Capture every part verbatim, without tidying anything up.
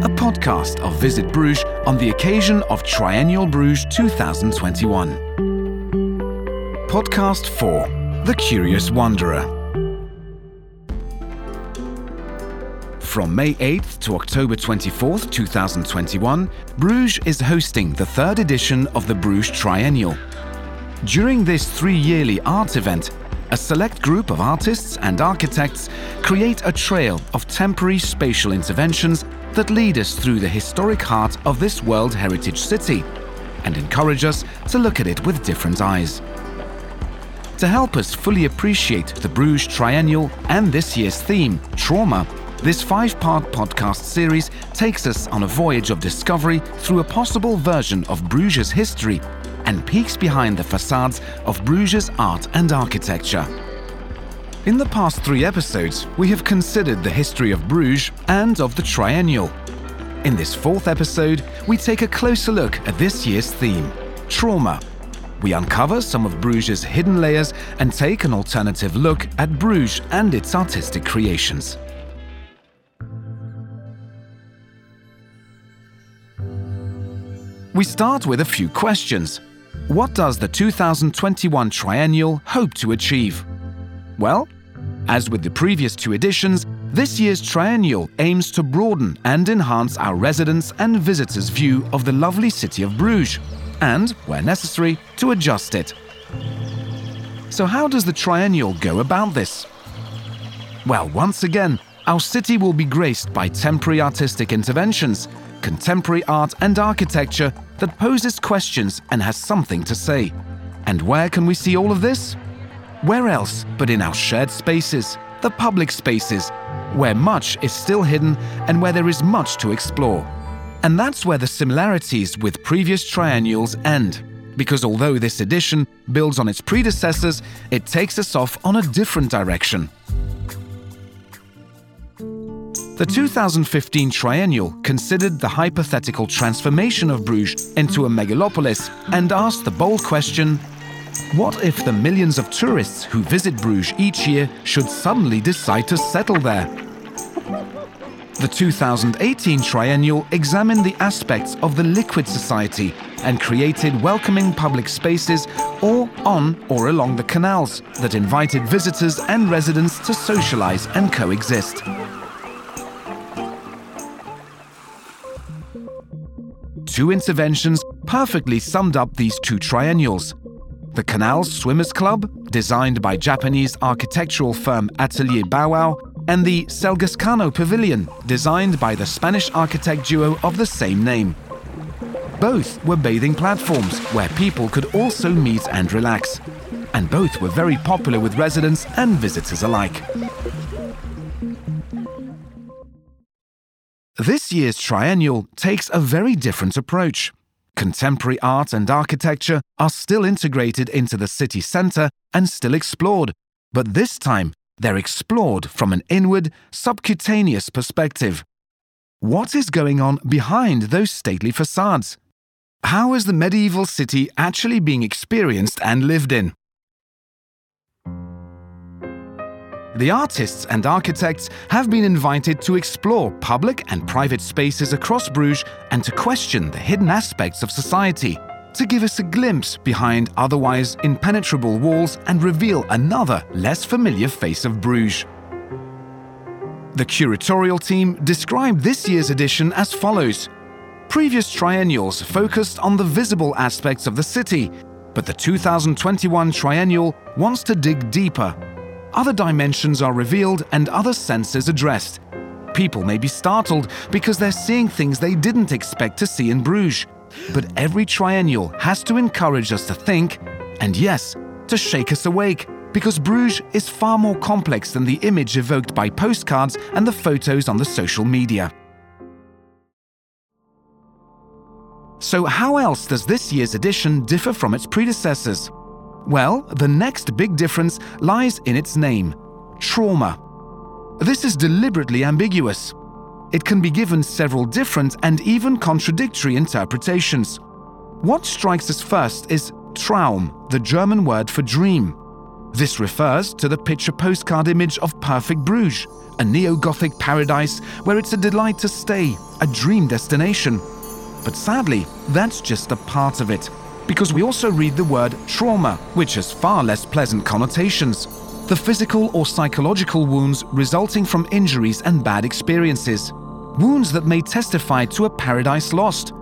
a podcast of Visit Bruges on the occasion of Triennial Bruges twenty twenty-one. Podcast four, The Curious Wanderer. From May eighth to October twenty-fourth, twenty twenty-one, Bruges is hosting the third edition of the Bruges Triennial. During this three-yearly art event, a select group of artists and architects create a trail of temporary spatial interventions that lead us through the historic heart of this World Heritage City and encourage us to look at it with different eyes. To help us fully appreciate the Bruges Triennial and this year's theme, trauma, this five-part podcast series takes us on a voyage of discovery through a possible version of Bruges' history and peeks behind the facades of Bruges' art and architecture. In the past three episodes, we have considered the history of Bruges and of the Triennial. In this fourth episode, we take a closer look at this year's theme, trauma. We uncover some of Bruges' hidden layers and take an alternative look at Bruges and its artistic creations. We start with a few questions. What does the two thousand twenty-one Triennial hope to achieve? Well, as with the previous two editions, this year's Triennial aims to broaden and enhance our residents' and visitors' view of the lovely city of Bruges, and, where necessary, to adjust it. So how does the Triennial go about this? Well, once again, our city will be graced by temporary artistic interventions, contemporary art and architecture that poses questions and has something to say. And where can we see all of this? Where else but in our shared spaces, the public spaces, where much is still hidden and where there is much to explore. And that's where the similarities with previous triennials end, because although this edition builds on its predecessors, it takes us off on a different direction. The two thousand fifteen Triennial considered the hypothetical transformation of Bruges into a megalopolis and asked the bold question, what if the millions of tourists who visit Bruges each year should suddenly decide to settle there? The two thousand eighteen Triennial examined the aspects of the liquid society and created welcoming public spaces all on or along the canals that invited visitors and residents to socialize and coexist. Two interventions perfectly summed up these two triennials. The Canals Swimmers Club, designed by Japanese architectural firm Atelier Bauau, and the Selgascano Pavilion, designed by the Spanish architect duo of the same name. Both were bathing platforms where people could also meet and relax, and both were very popular with residents and visitors alike. This year's Triennial takes a very different approach. Contemporary art and architecture are still integrated into the city centre and still explored, but this time they're explored from an inward, subcutaneous perspective. What is going on behind those stately facades? How is the medieval city actually being experienced and lived in? The artists and architects have been invited to explore public and private spaces across Bruges and to question the hidden aspects of society, to give us a glimpse behind otherwise impenetrable walls and reveal another, less familiar face of Bruges. The curatorial team described this year's edition as follows. Previous triennials focused on the visible aspects of the city, but the two thousand twenty-one Triennial wants to dig deeper. Other dimensions are revealed and other senses addressed. People may be startled because they're seeing things they didn't expect to see in Bruges. But every triennial has to encourage us to think, and yes, to shake us awake, because Bruges is far more complex than the image evoked by postcards and the photos on the social media. So how else does this year's edition differ from its predecessors? Well, the next big difference lies in its name, trauma. This is deliberately ambiguous. It can be given several different and even contradictory interpretations. What strikes us first is Traum, the German word for dream. This refers to the picture postcard image of perfect Bruges, a neo-Gothic paradise where it's a delight to stay, a dream destination. But sadly, that's just a part of it, because we also read the word trauma, which has far less pleasant connotations. The physical or psychological wounds resulting from injuries and bad experiences. Wounds that may testify to a paradise lost.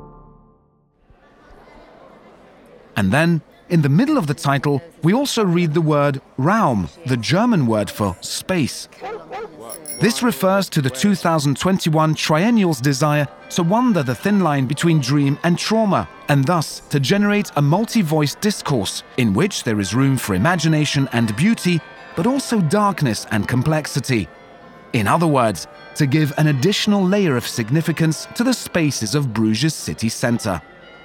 And then, in the middle of the title, we also read the word Raum, the German word for space. This refers to the two thousand twenty-one triennial's desire to wander the thin line between dream and trauma, and thus to generate a multi-voice discourse in which there is room for imagination and beauty, but also darkness and complexity. In other words, to give an additional layer of significance to the spaces of Bruges' city centre.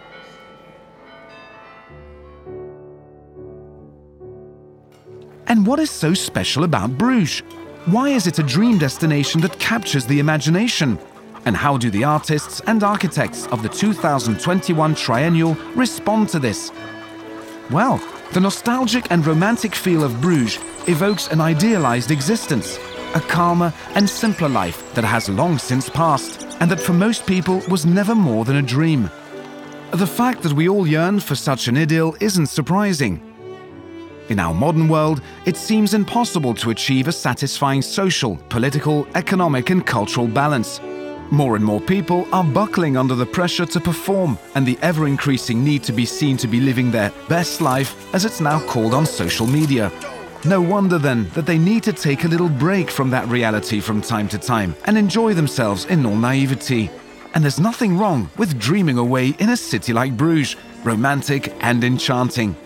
And what is so special about Bruges? Why is it a dream destination that captures the imagination? And how do the artists and architects of the two thousand twenty-one triennial respond to this? Well, the nostalgic and romantic feel of Bruges evokes an idealized existence, a calmer and simpler life that has long since passed, and that for most people was never more than a dream. The fact that we all yearn for such an idyll isn't surprising. In our modern world, it seems impossible to achieve a satisfying social, political, economic and cultural balance. More and more people are buckling under the pressure to perform and the ever-increasing need to be seen to be living their best life, as it's now called on social media. No wonder then that they need to take a little break from that reality from time to time and enjoy themselves in all naivety. And there's nothing wrong with dreaming away in a city like Bruges, romantic and enchanting.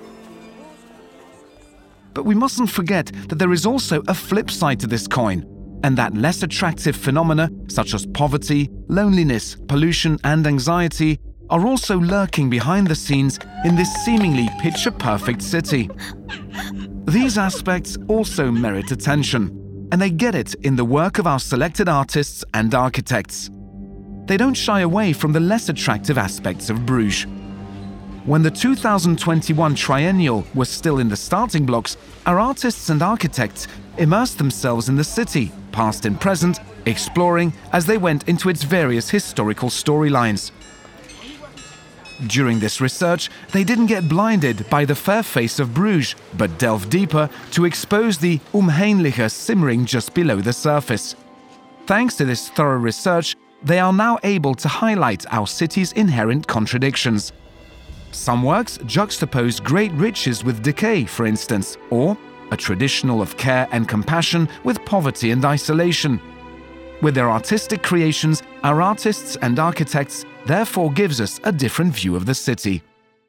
But we mustn't forget that there is also a flip side to this coin, and that less attractive phenomena such as poverty, loneliness, pollution and anxiety are also lurking behind the scenes in this seemingly picture-perfect city. These aspects also merit attention, and they get it in the work of our selected artists and architects. They don't shy away from the less attractive aspects of Bruges. When the two thousand twenty-one triennial was still in the starting blocks, our artists and architects immersed themselves in the city, past and present, exploring as they went into its various historical storylines. During this research, they didn't get blinded by the fair face of Bruges, but delved deeper to expose the Umheinliche simmering just below the surface. Thanks to this thorough research, they are now able to highlight our city's inherent contradictions. Some works juxtapose great riches with decay, for instance, or a traditional of care and compassion with poverty and isolation. With their artistic creations, our artists and architects therefore gives us a different view of the city.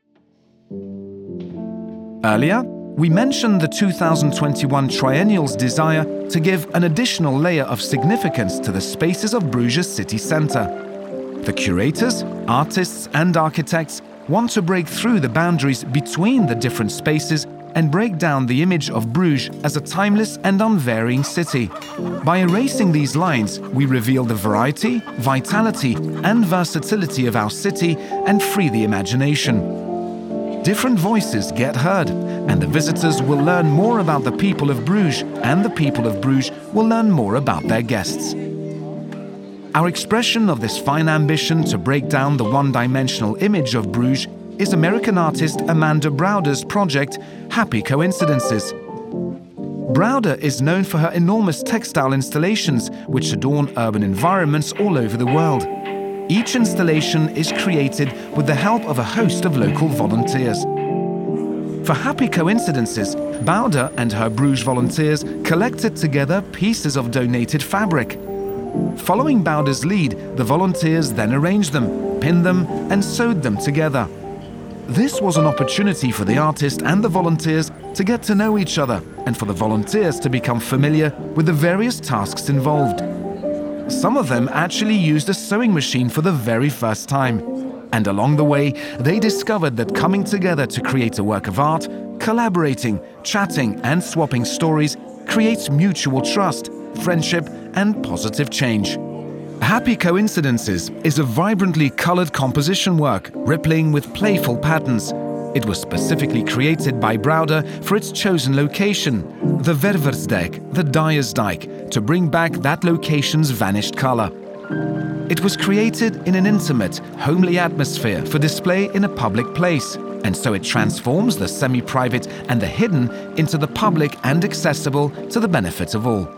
Earlier, we mentioned the two thousand twenty-one triennial's desire to give an additional layer of significance to the spaces of Bruges city centre. The curators, artists and architects want to break through the boundaries between the different spaces and break down the image of Bruges as a timeless and unvarying city. By erasing these lines, we reveal the variety, vitality and versatility of our city and free the imagination. Different voices get heard, and the visitors will learn more about the people of Bruges, and the people of Bruges will learn more about their guests. Our expression of this fine ambition to break down the one-dimensional image of Bruges is American artist Amanda Browder's project, Happy Coincidences. Browder is known for her enormous textile installations, which adorn urban environments all over the world. Each installation is created with the help of a host of local volunteers. For Happy Coincidences, Browder and her Bruges volunteers collected together pieces of donated fabric. Following Browder's lead, the volunteers then arranged them, pinned them, and sewed them together. This was an opportunity for the artist and the volunteers to get to know each other, and for the volunteers to become familiar with the various tasks involved. Some of them actually used a sewing machine for the very first time. And along the way, they discovered that coming together to create a work of art, collaborating, chatting, and swapping stories creates mutual trust, friendship, and positive change. Happy Coincidences is a vibrantly colored composition work, rippling with playful patterns. It was specifically created by Browder for its chosen location, the Werversdijk, the Dyer's Dyke, to bring back that location's vanished colour. It was created in an intimate, homely atmosphere for display in a public place, and so it transforms the semi-private and the hidden into the public and accessible to the benefit of all.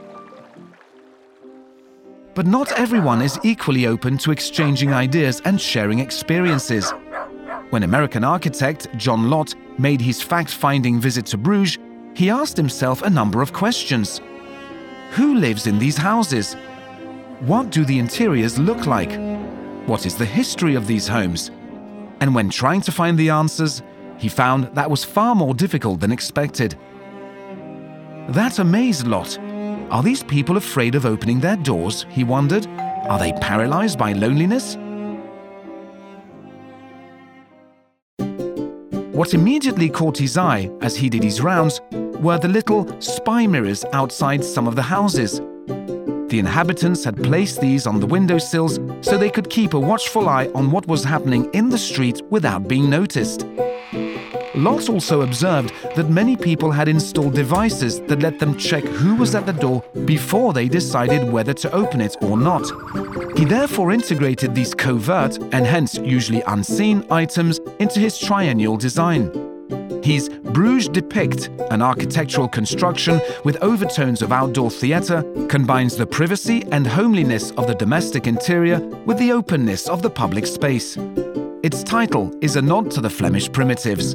But not everyone is equally open to exchanging ideas and sharing experiences. When American architect John Lott made his fact-finding visit to Bruges, he asked himself a number of questions. Who lives in these houses? What do the interiors look like? What is the history of these homes? And when trying to find the answers, he found that was far more difficult than expected. That amazed Lott. Are these people afraid of opening their doors, he wondered? Are they paralyzed by loneliness? What immediately caught his eye as he did his rounds were the little spy mirrors outside some of the houses. The inhabitants had placed these on the windowsills so they could keep a watchful eye on what was happening in the street without being noticed. Lott also observed that many people had installed devices that let them check who was at the door before they decided whether to open it or not. He therefore integrated these covert, and hence usually unseen, items into his triennial design. His Bruges Depict, an architectural construction with overtones of outdoor theatre, combines the privacy and homeliness of the domestic interior with the openness of the public space. Its title is a nod to the Flemish primitives.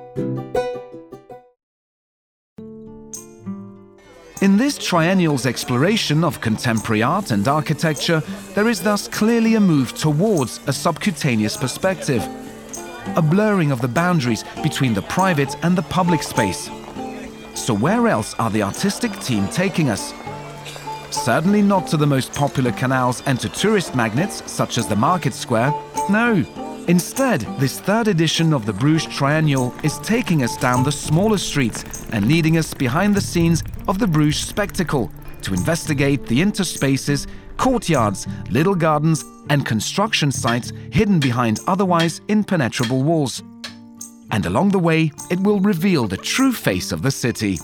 In this triennial's exploration of contemporary art and architecture, there is thus clearly a move towards a subcutaneous perspective, a blurring of the boundaries between the private and the public space. So where else are the artistic team taking us? Certainly not to the most popular canals and to tourist magnets such as the Market Square. No. Instead, this third edition of the Bruges Triennial is taking us down the smaller streets and leading us behind the scenes of the Bruges spectacle to investigate the interspaces, courtyards, little gardens and construction sites hidden behind otherwise impenetrable walls. And along the way, it will reveal the true face of the city.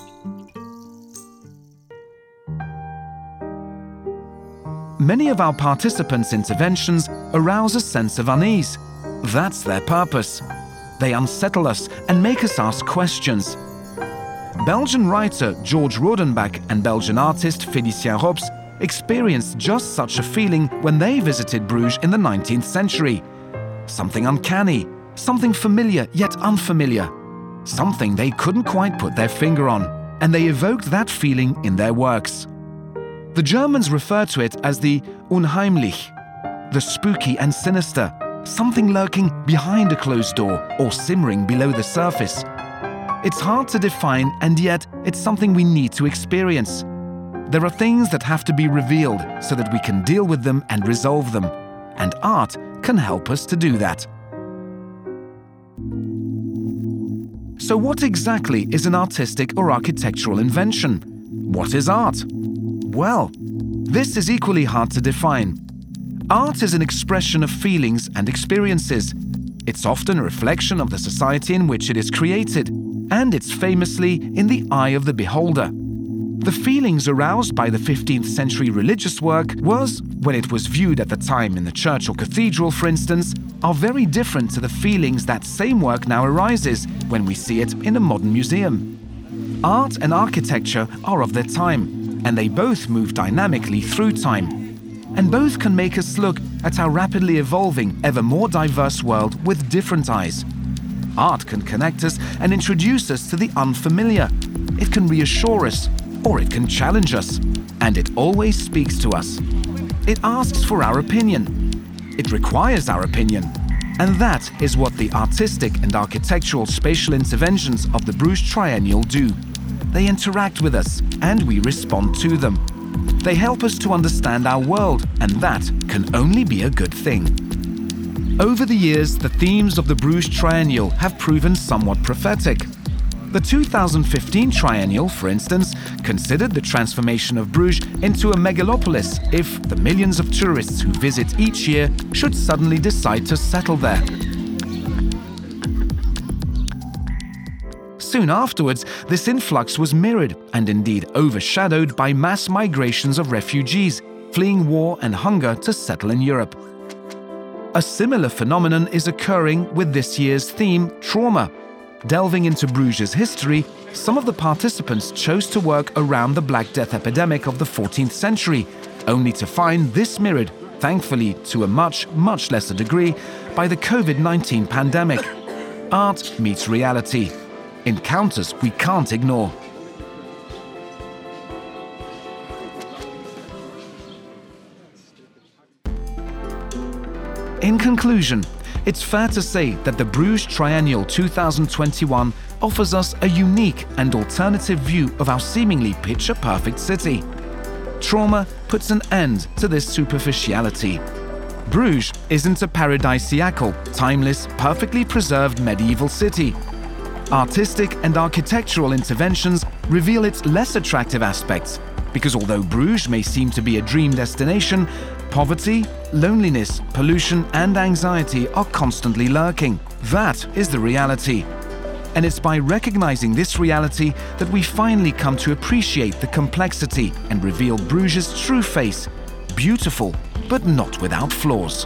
Many of our participants' interventions arouse a sense of unease. That's their purpose. They unsettle us and make us ask questions. Belgian writer George Rodenbach and Belgian artist Félicien Rops experienced just such a feeling when they visited Bruges in the nineteenth century. Something uncanny, something familiar yet unfamiliar, something they couldn't quite put their finger on, and they evoked that feeling in their works. The Germans refer to it as the unheimlich, the spooky and sinister, something lurking behind a closed door or simmering below the surface. It's hard to define, and yet it's something we need to experience. There are things that have to be revealed so that we can deal with them and resolve them, and art can help us to do that. So what exactly is an artistic or architectural invention? What is art? Well, this is equally hard to define. Art is an expression of feelings and experiences. It's often a reflection of the society in which it is created, and it's famously in the eye of the beholder. The feelings aroused by the fifteenth century religious work was, when it was viewed at the time in the church or cathedral, for instance, are very different to the feelings that same work now arises when we see it in a modern museum. Art and architecture are of their time, and they both move dynamically through time. And both can make us look at our rapidly evolving, ever more diverse world with different eyes. Art can connect us and introduce us to the unfamiliar. It can reassure us, or it can challenge us. And it always speaks to us. It asks for our opinion. It requires our opinion. And that is what the artistic and architectural spatial interventions of the Bruges Triennial do. They interact with us, and we respond to them. They help us to understand our world, and that can only be a good thing. Over the years, the themes of the Bruges Triennial have proven somewhat prophetic. The two thousand fifteen Triennial, for instance, considered the transformation of Bruges into a megalopolis if the millions of tourists who visit each year should suddenly decide to settle there. Soon afterwards, this influx was mirrored and indeed overshadowed by mass migrations of refugees, fleeing war and hunger to settle in Europe. A similar phenomenon is occurring with this year's theme, trauma. Delving into Bruges' history, some of the participants chose to work around the Black Death epidemic of the fourteenth century, only to find this mirrored, thankfully to a much, much lesser degree, by the COVID nineteen pandemic. Art meets reality. Encounters we can't ignore. In conclusion, it's fair to say that the Bruges Triennial two thousand twenty-one offers us a unique and alternative view of our seemingly picture-perfect city. Trauma puts an end to this superficiality. Bruges isn't a paradisiacal, timeless, perfectly preserved medieval city. Artistic and architectural interventions reveal its less attractive aspects, because although Bruges may seem to be a dream destination, poverty, loneliness, pollution and anxiety are constantly lurking. That is the reality. And it's by recognizing this reality that we finally come to appreciate the complexity and reveal Bruges' true face, beautiful but not without flaws.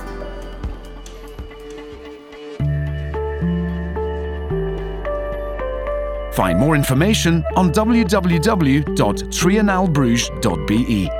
Find more information on w w w dot triennale bruges dot b e.